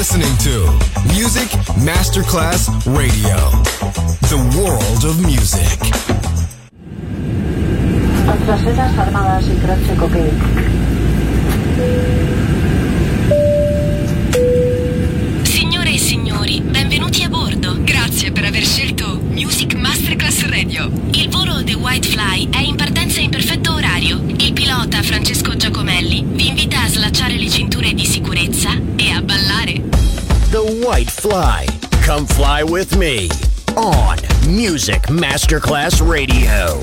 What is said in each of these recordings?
listening to Music Masterclass Radio, the world of music. Otras armadas y croce coque. Signore e signori, benvenuti a bordo. Grazie per aver scelto Music Masterclass Radio. Il volo The White Fly è in partenza in perfetto orario. Il pilota Francesco Giacomelli vi invita a slacciare le cinture di sicurezza e a ballare. The White Fly. Come fly with me on Music Masterclass Radio.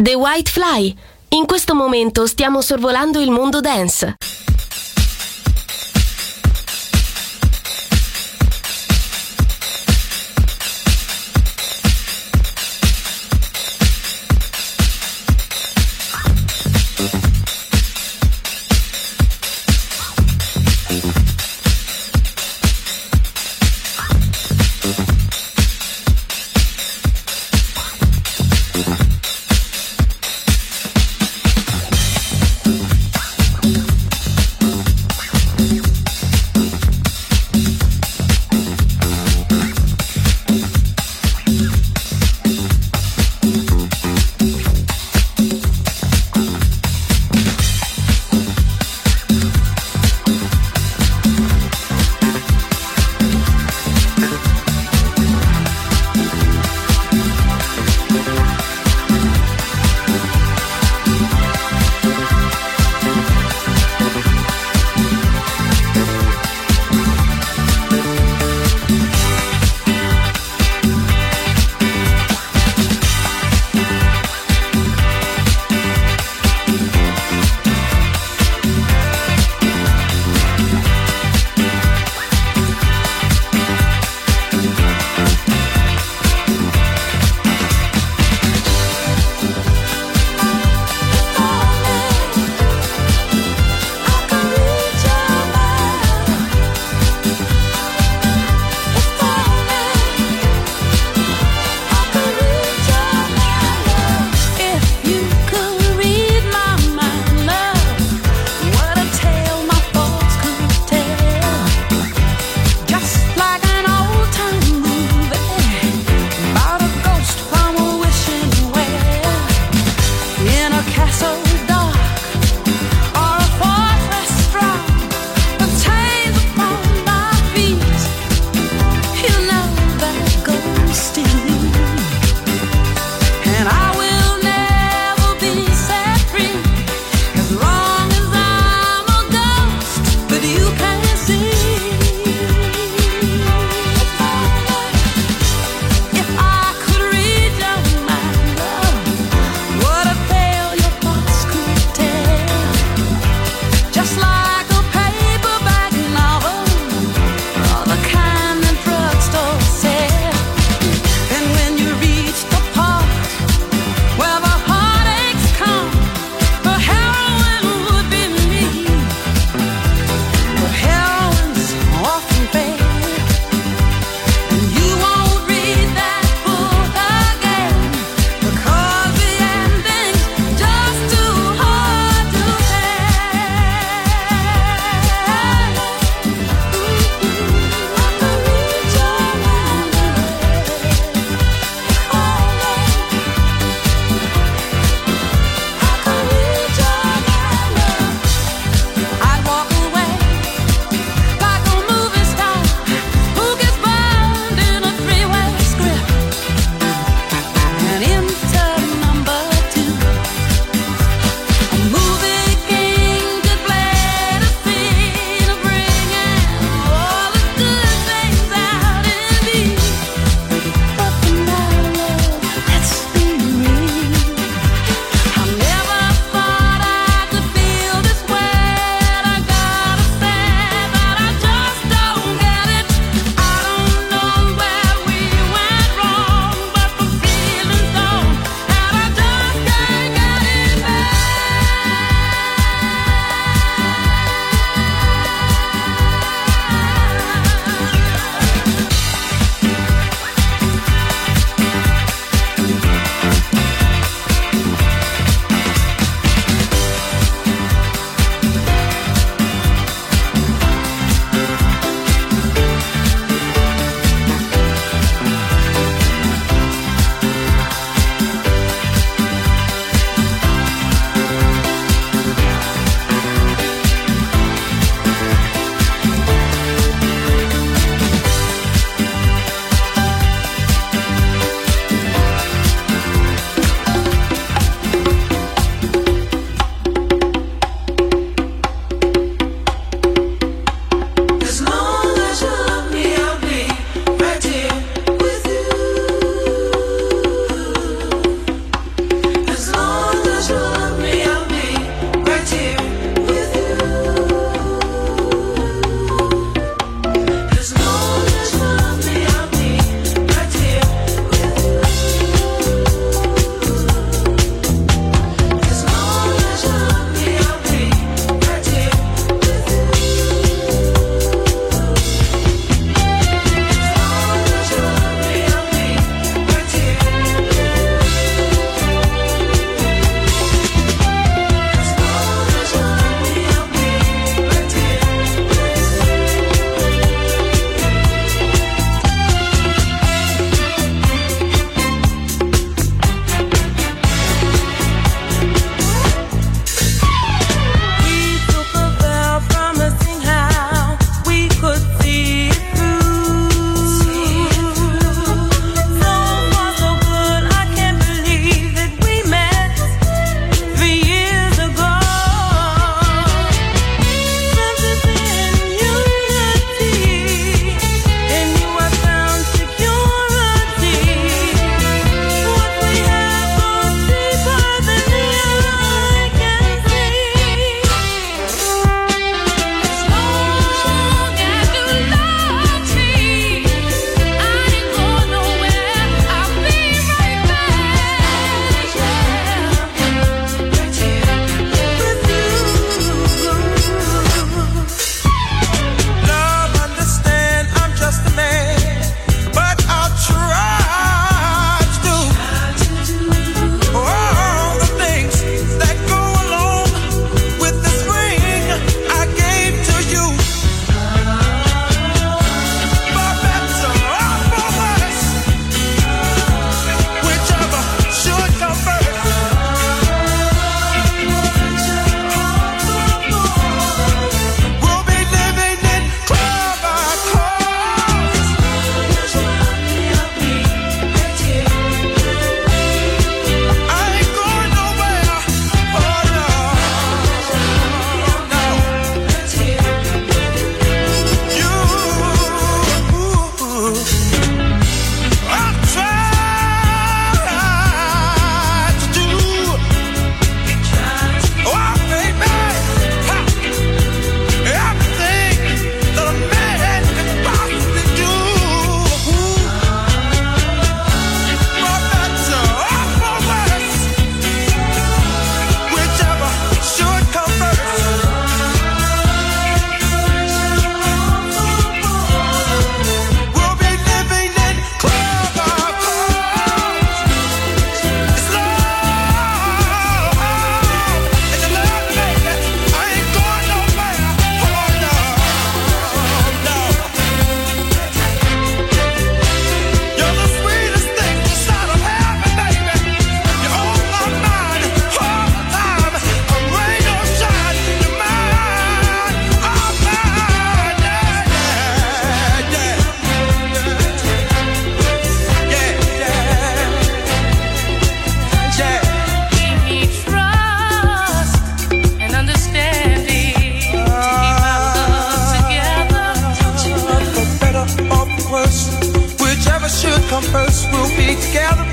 The White Fly. In questo momento stiamo sorvolando il mondo dance.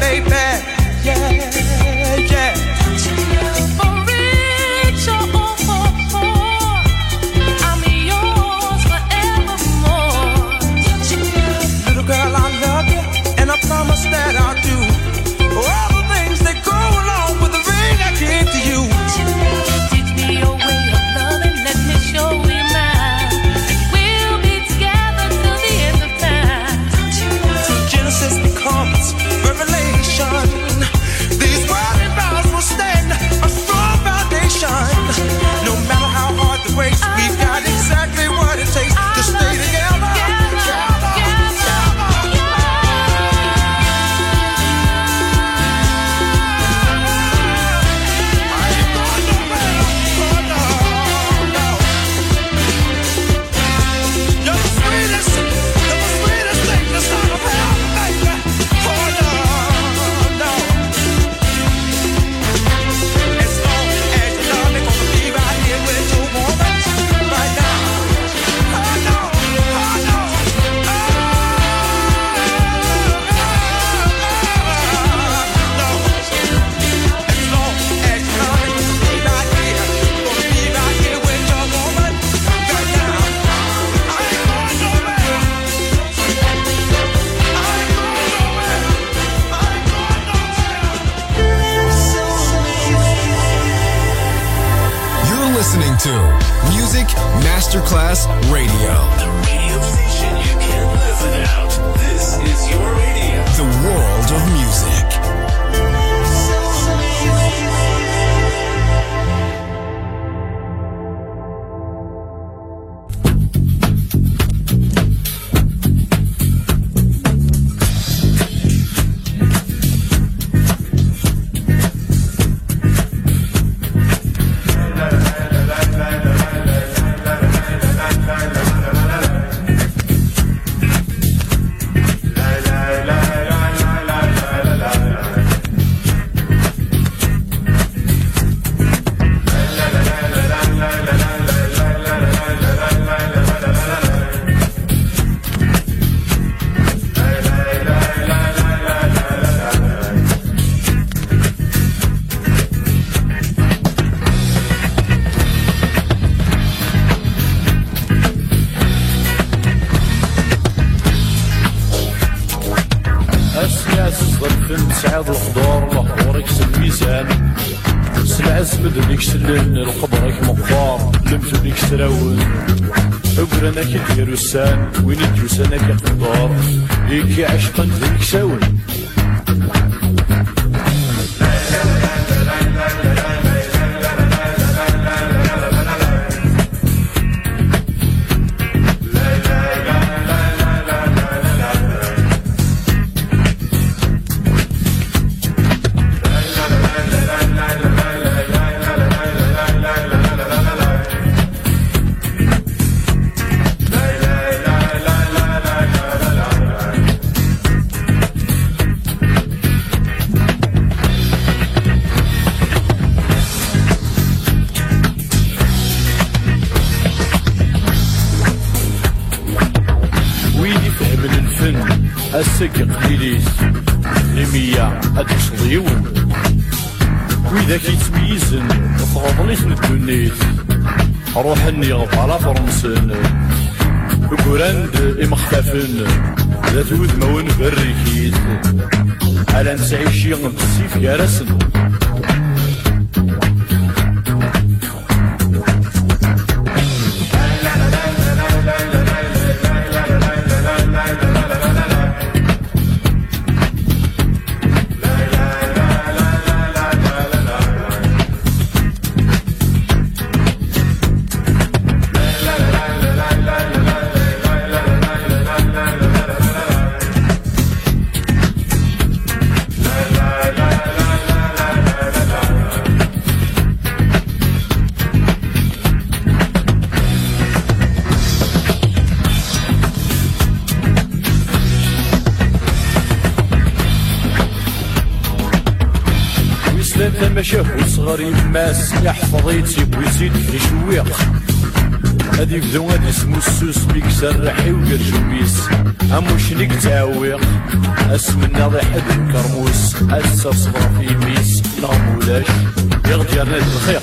baby. Yeah, yeah. For rich or poor, I'm yours forevermore. Little girl, I love you, and I promise that I'll do all the things that go along with the ring I gave to you. Teach me your way of loving, let me show you mine. We'll be together till the end of time. From Genesis becomes Revelation. These wedding vows will stand a strong foundation. No matter how hard the race, we've got exactly what it takes to stay together. Listening to Music Masterclass Radio. The radio station you can't live without. This is your radio. The world of music. سعاد الخضار محورك الميزان سنعز مدنك سلن القبرك مقفار لمثلك سراون عقرنا كدير السان وين الجوسانا كالخضار إيكي عشقا ذلك ساون السق قليليس لمية أدشضيون وإذا كيتميزن فغضليس ندونيس روحني غفالة فرنسن وقراند إمختفن ذات وذمون بريكيس على نسعيشي غنبسيف يارسن مشاهو صغار يماس يحفظ يتسيب ويزيد في شويق هادي يبدو غادي اسمو السوس بيك سرحي وقرجويس اموش نيك تعويق اسم الناضي حد الكرموس أسا صبر في ميس نغم ولاش يغدي رناد الخير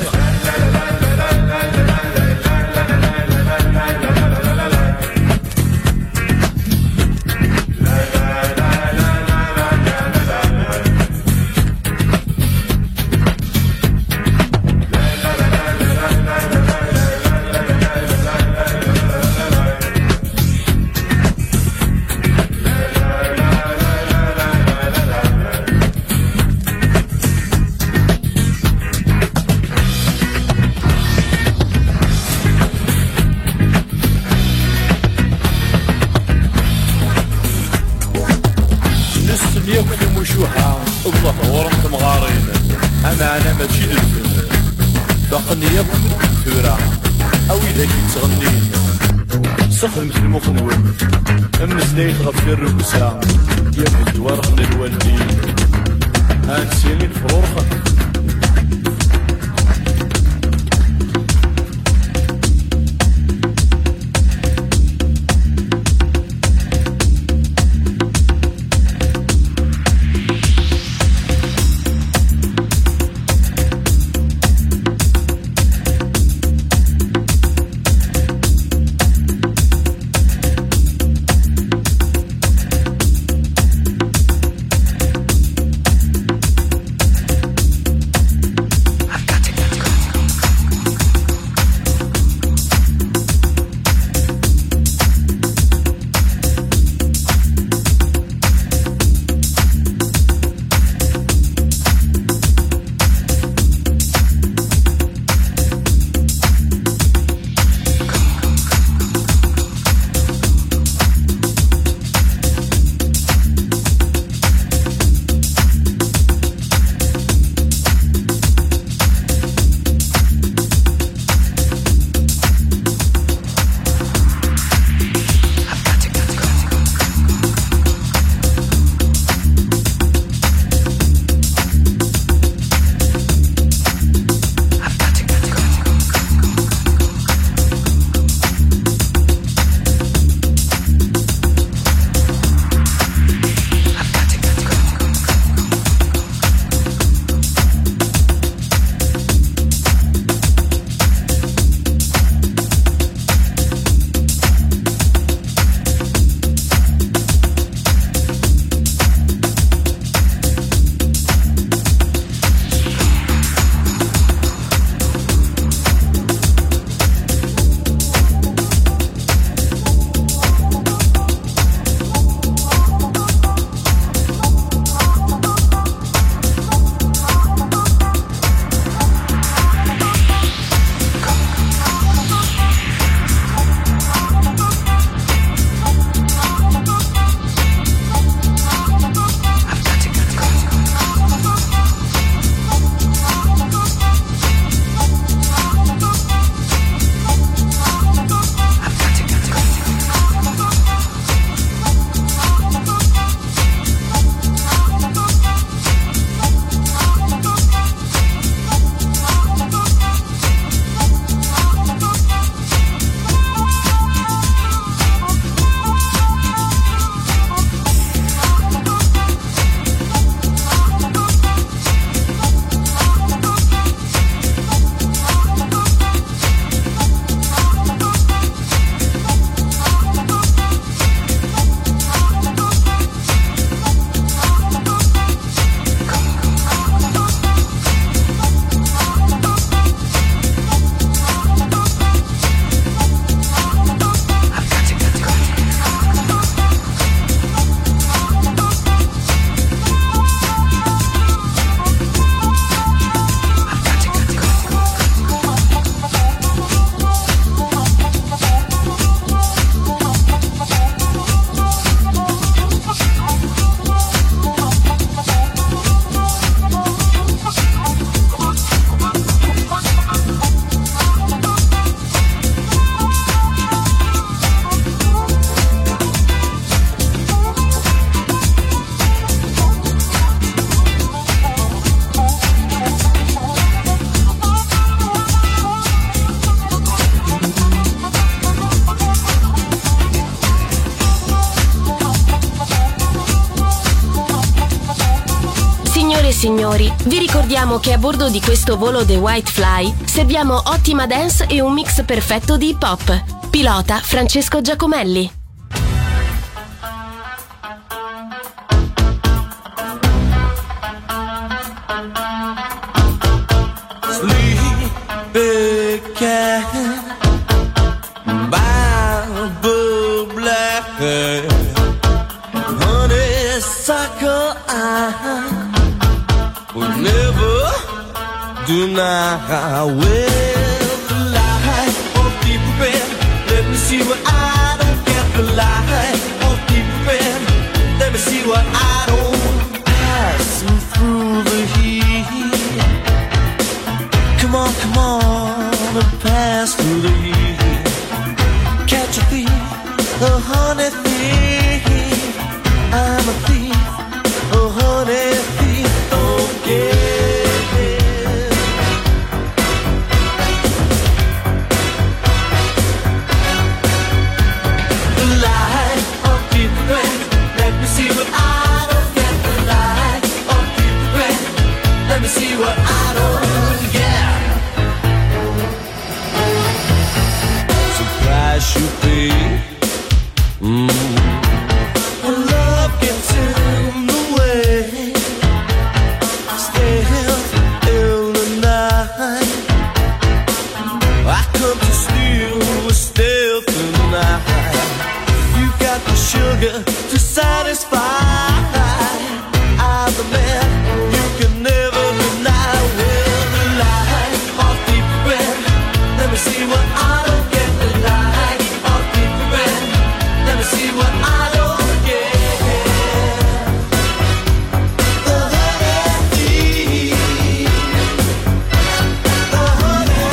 ياكل مشوحة الله ورمت مغارين أنا ماشي للفن باقني ياكل الثورة أو إذا كنت تغنين سخن مثل المخنون أمزنيت غفل الرقصة ياكل دوارخن الوالدين هانسيني الفرورخن Signore e signori, vi ricordiamo che a bordo di questo volo The White Fly serviamo ottima dance e un mix perfetto di hip hop. Pilota Francesco Giacomelli. Sleepy cat, Bible black, honeysuckle I would never deny. Well, the light of deep red, let me see what I don't get. The light of deep red, let me see what I don't. Passing through the heat. Come on, and pass through the heat. Catch a thief, a honey thief. I'm a thief, a honey thief. Don't get it. The light of deep red, let me see what I don't get. The light of deep red, let me see what I don't get. Price you pay. When love gets in the way, stealth in the night. I come to steal with stealth in the night. You got the sugar to satisfy. I'm the man you can never deny. Well, the light of deep red, let me see what I don't get. See what I don't get. The honey thief, the honey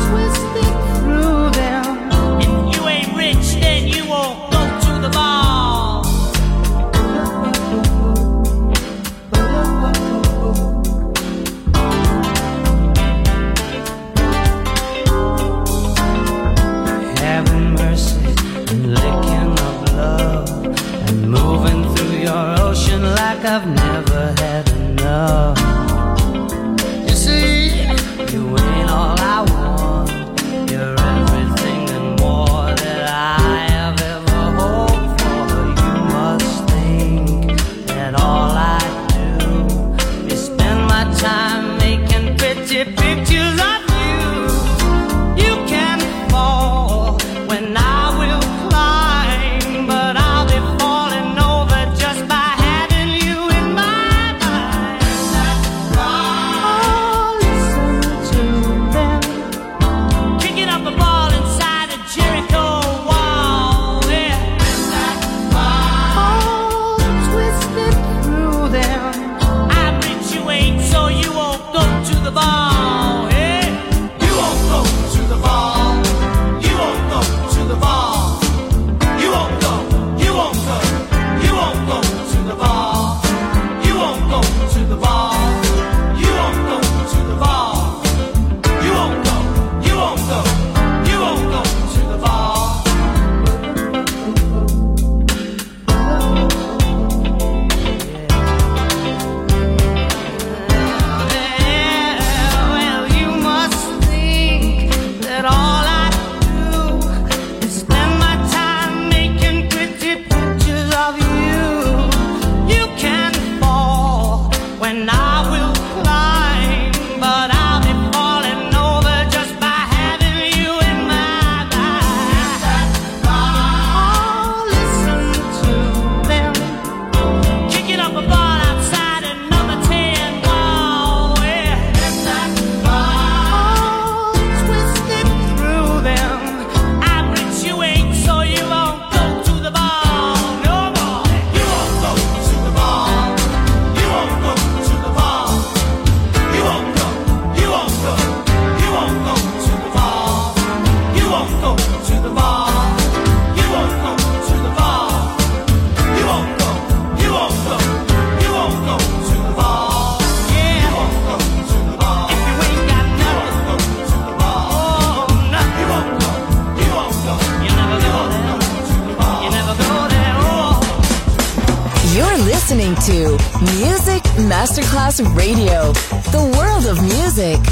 the ball. having mercy and licking up love and moving through your ocean like I've never had enough. You see, you ain't all I want. You're everything and more that I have ever hoped for. You must think that all I do is spend my time making pretty pictures of you. You can fall when I will climb, but I'll be falling over just by having you in my mind. Oh, listen to them kicking up a ball inside a Jericho wall. Yeah. Oh, twisted through them. I habituate so you won't go to the ball. Yeah. You won't go to the ball. You won't go to the ball. You won't go. You won't go. You won't go to the ball. You won't go to the ball. You won't go to the ball. You won't go. You won't go. You won't go to the ball. Well, you must think that all I do is spend my time making pretty pictures of you. You can fall when I will climb, but I'll be falling over just by having you in my mind. Oh, listen to them kicking up a ball outside a number 10 wall. Yeah. Oh, twisted through them. I habituate so you won't go to the ball no more. You won't go to the ball. You won't go to the ball. You won't go. You won't go. You won't go to the ball. You won't go to the ball. You won't go to the ball. You won't go. You won't go. You won't go to the ball. Yeah. You won't go to the ball. If you ain't got nothing, go to the ball. Oh, nothing. You won't go. You won't go. You never go there. You never go there. Oh. You're listening to Music Masterclass Radio, the world of music.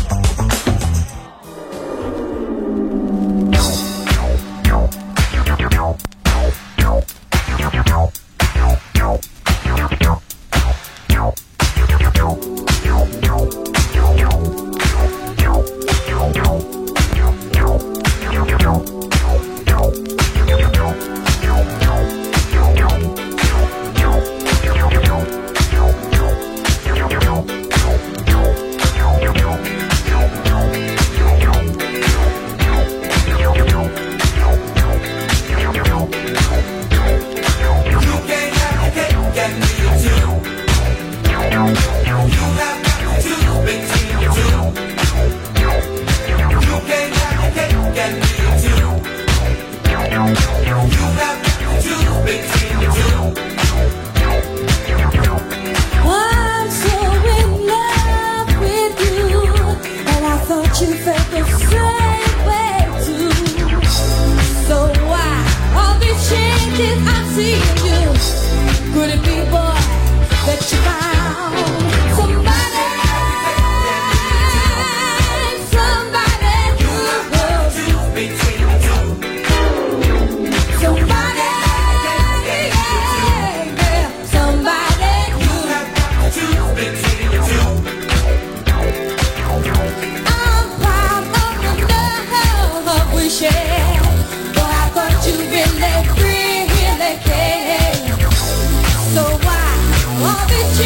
I'm so in love with you, and I thought you felt the same way too. So why all these changes I'm seeing you? Could it be, boy, that you found somebody who loves you between the two? Somebody, yeah, somebody you have to between the two. I'm proud of the love we share, but I thought you really cared. So why all these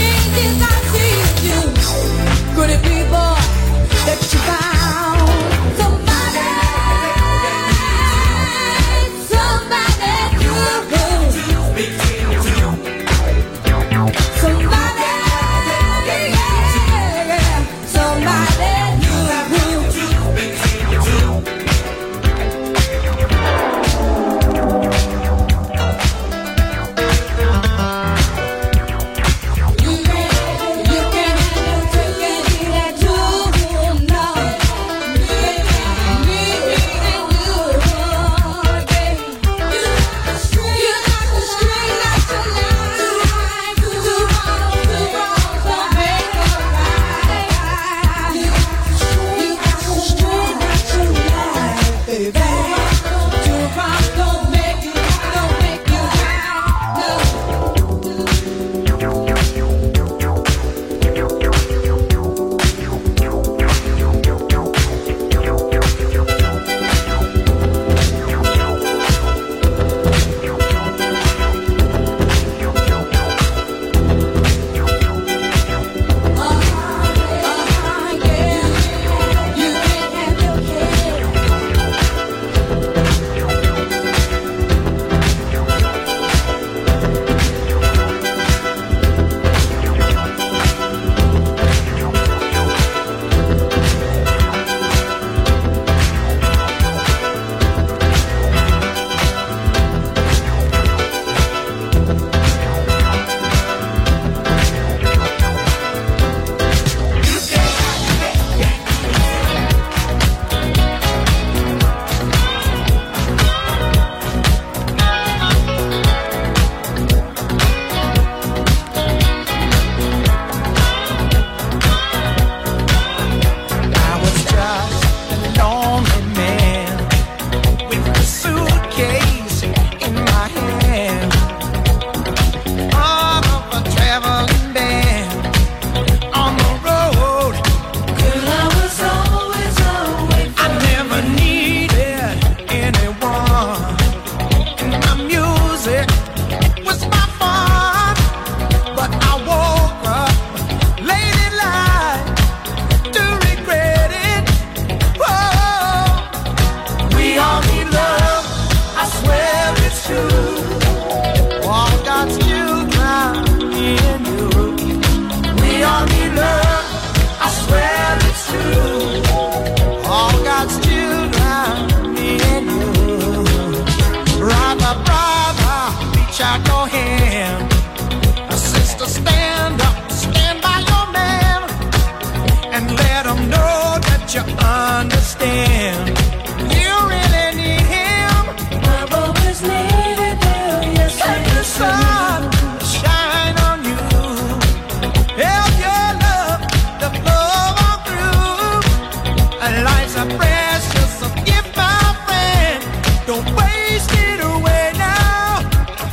don't you understand? You really need him. I've always needed you, yes, Let the sun shine on you. Help your love to flow on through. And life's a precious gift, my friend. Don't waste it away now.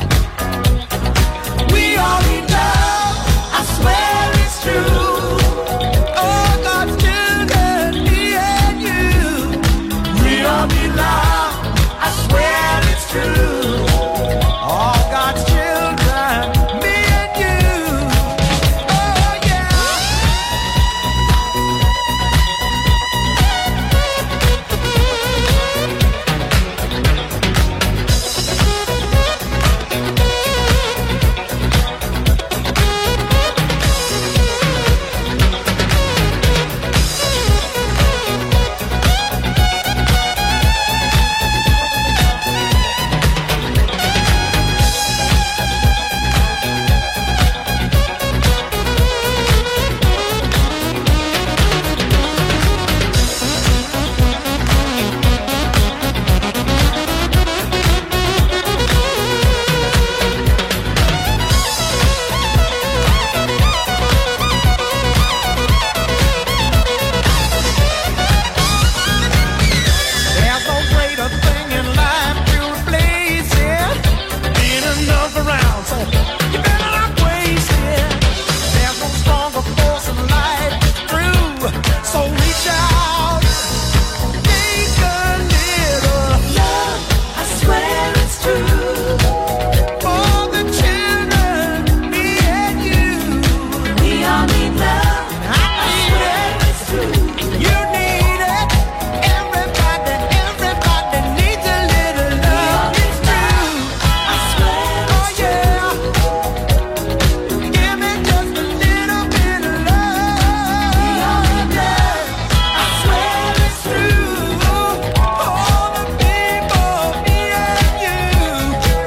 We all need love, I swear it's true. Oh, God's children, me and you. We all need love, I swear it's true. All God's children, me and you. Oh, yeah. There's no greater thing in life to replace it. Being enough around, so you better not waste it. There's no stronger force in life through, so reach out, take a little love, I swear it's true. for the children, me and you. We all need love, I need it's true. it, you need it. Everybody needs a little love. It's true. I swear Oh yeah, give me just a little bit of love. I swear It's true. All the people, me and you.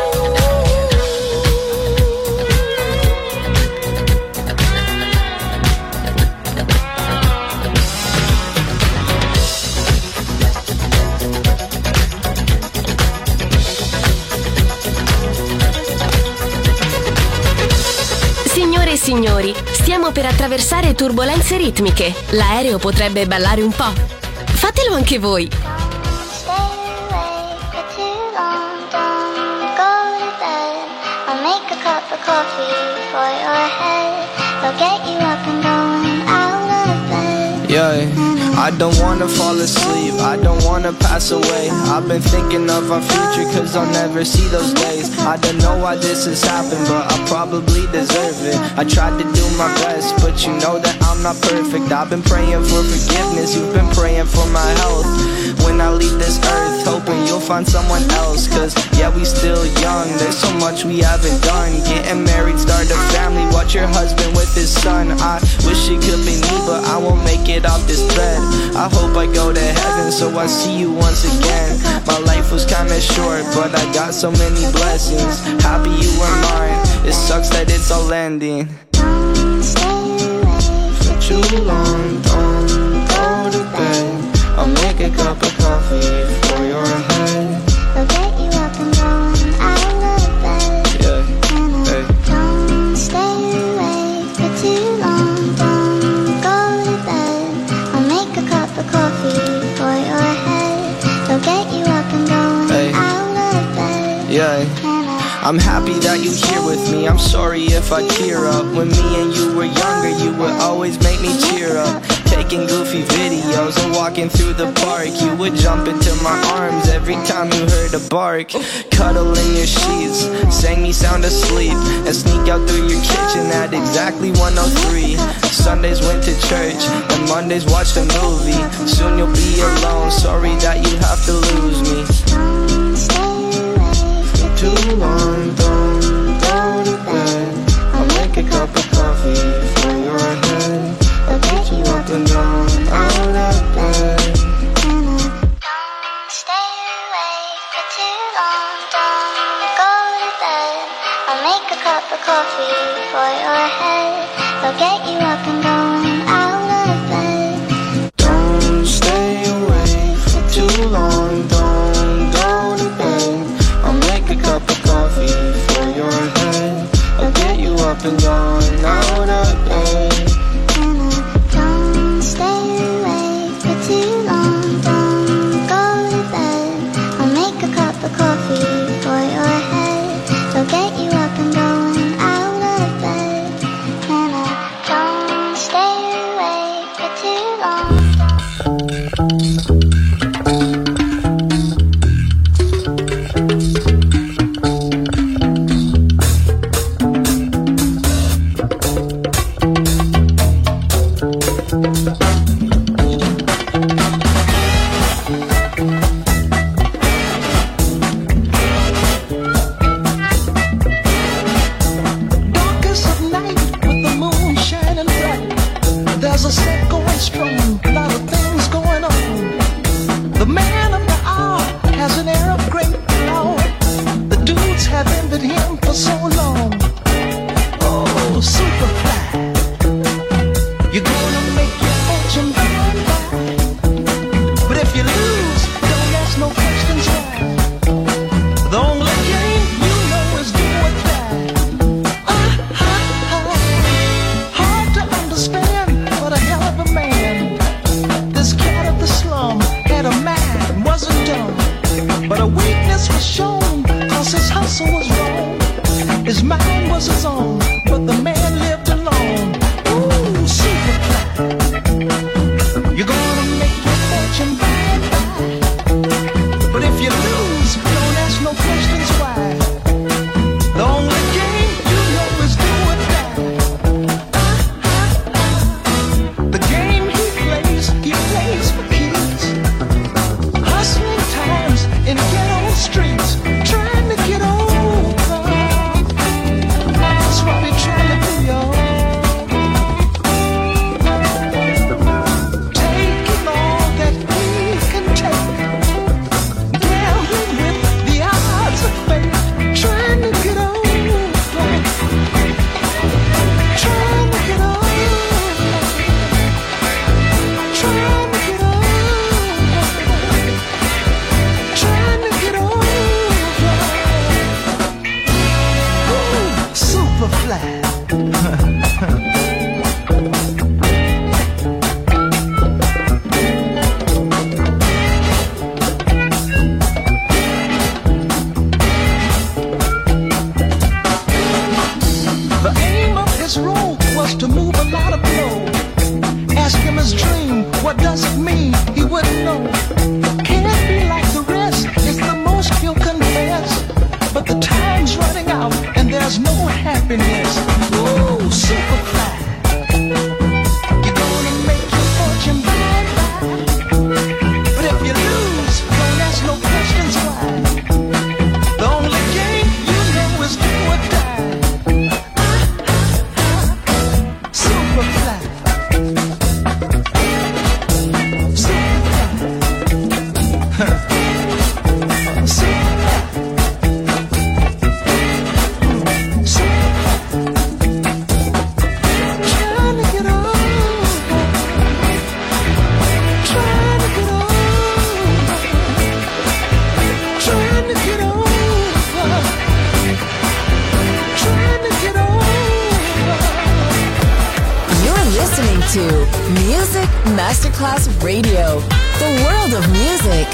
Signore e signori, stiamo per attraversare turbolenze ritmiche. L'aereo potrebbe ballare un po'. Fatelo anche voi. Stay awake for too long, don't go to bed. I'll make a cup of coffee for your head. I'll get you up and going out of bed. Yeah, I don't wanna fall asleep, I don't wanna pass away. I've been thinking of our future cause I'll never see those days. I don't know why this has happened, but I probably deserve it. I tried to do my best, but you know that I'm not perfect. I've been praying for forgiveness, you've been praying for my health. When I leave this earth, hoping you'll find someone else. Cause yeah, we still young, there's so much we haven't done. Getting married, start a family, watch your husband with his son. I wish it could be me, but I won't make it off this bed. I hope I go to heaven, so I see you once again. My life was kinda short, but I got so many blessings. Happy you were mine, it sucks that it's all ending. For too long, don't go to bed. I'll make a cup of coffee for your head. I'll get you up and going out of bed. Yeah, hey. Don't stay awake for too long, don't go to bed. I'll make a cup of coffee for your head. I'll get you up and going Hey. out of bed. Yeah, I'm happy that you're here with me. I'm sorry if I tear up. When me and you were younger, you would always make me cheer up. Taking goofy videos and walking through the park. You would jump into my arms every time you heard a bark. Cuddle in your sheets, sang me sound asleep, and sneak out through your kitchen at exactly 1:03. Sundays went to church, and Mondays watched a movie. Soon you'll be alone, sorry that you have to lose me. For too long, don't go to bed. I'll make a cup of coffee for your head. I'll get you up and down, out of bed. Don't stay awake for too long, don't go to bed. I'll make a cup of coffee for your head. I'll get you up and going out of bed. Don't best was shown, cause his hustle was wrong. His mind was his own, but the man lived alone. Ooh, Superfly. You're gonna make your fortune by and by. But if you lose, don't ask no questions why. The only game you know is do or die. The game he plays for keys. Hustling times in ghetto streets, trying to get over. That's what we're trying to do, y'all. Taking all that we can take, gambling with the odds of fate, trying to get over, trying to get over, trying to get over, trying to get over. Ooh, Superfly. The aim of his role was to move a lot of blow. Ask him his dream, what does it mean? He wouldn't know. Can't be like the rest, it's the most he'll confess. But the time's running out and there's no happiness. Ooh, Superfly. You're gonna make your fortune by and by. But if you lose, don't ask no questions why. The only game you know is do or die. Superfly. Trying to get over, trying to get over, trying to get over, trying to get over. You're listening to Music Masterclass Radio, the world of music.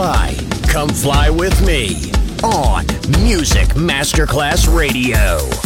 fly. Come fly with me on Music Masterclass Radio.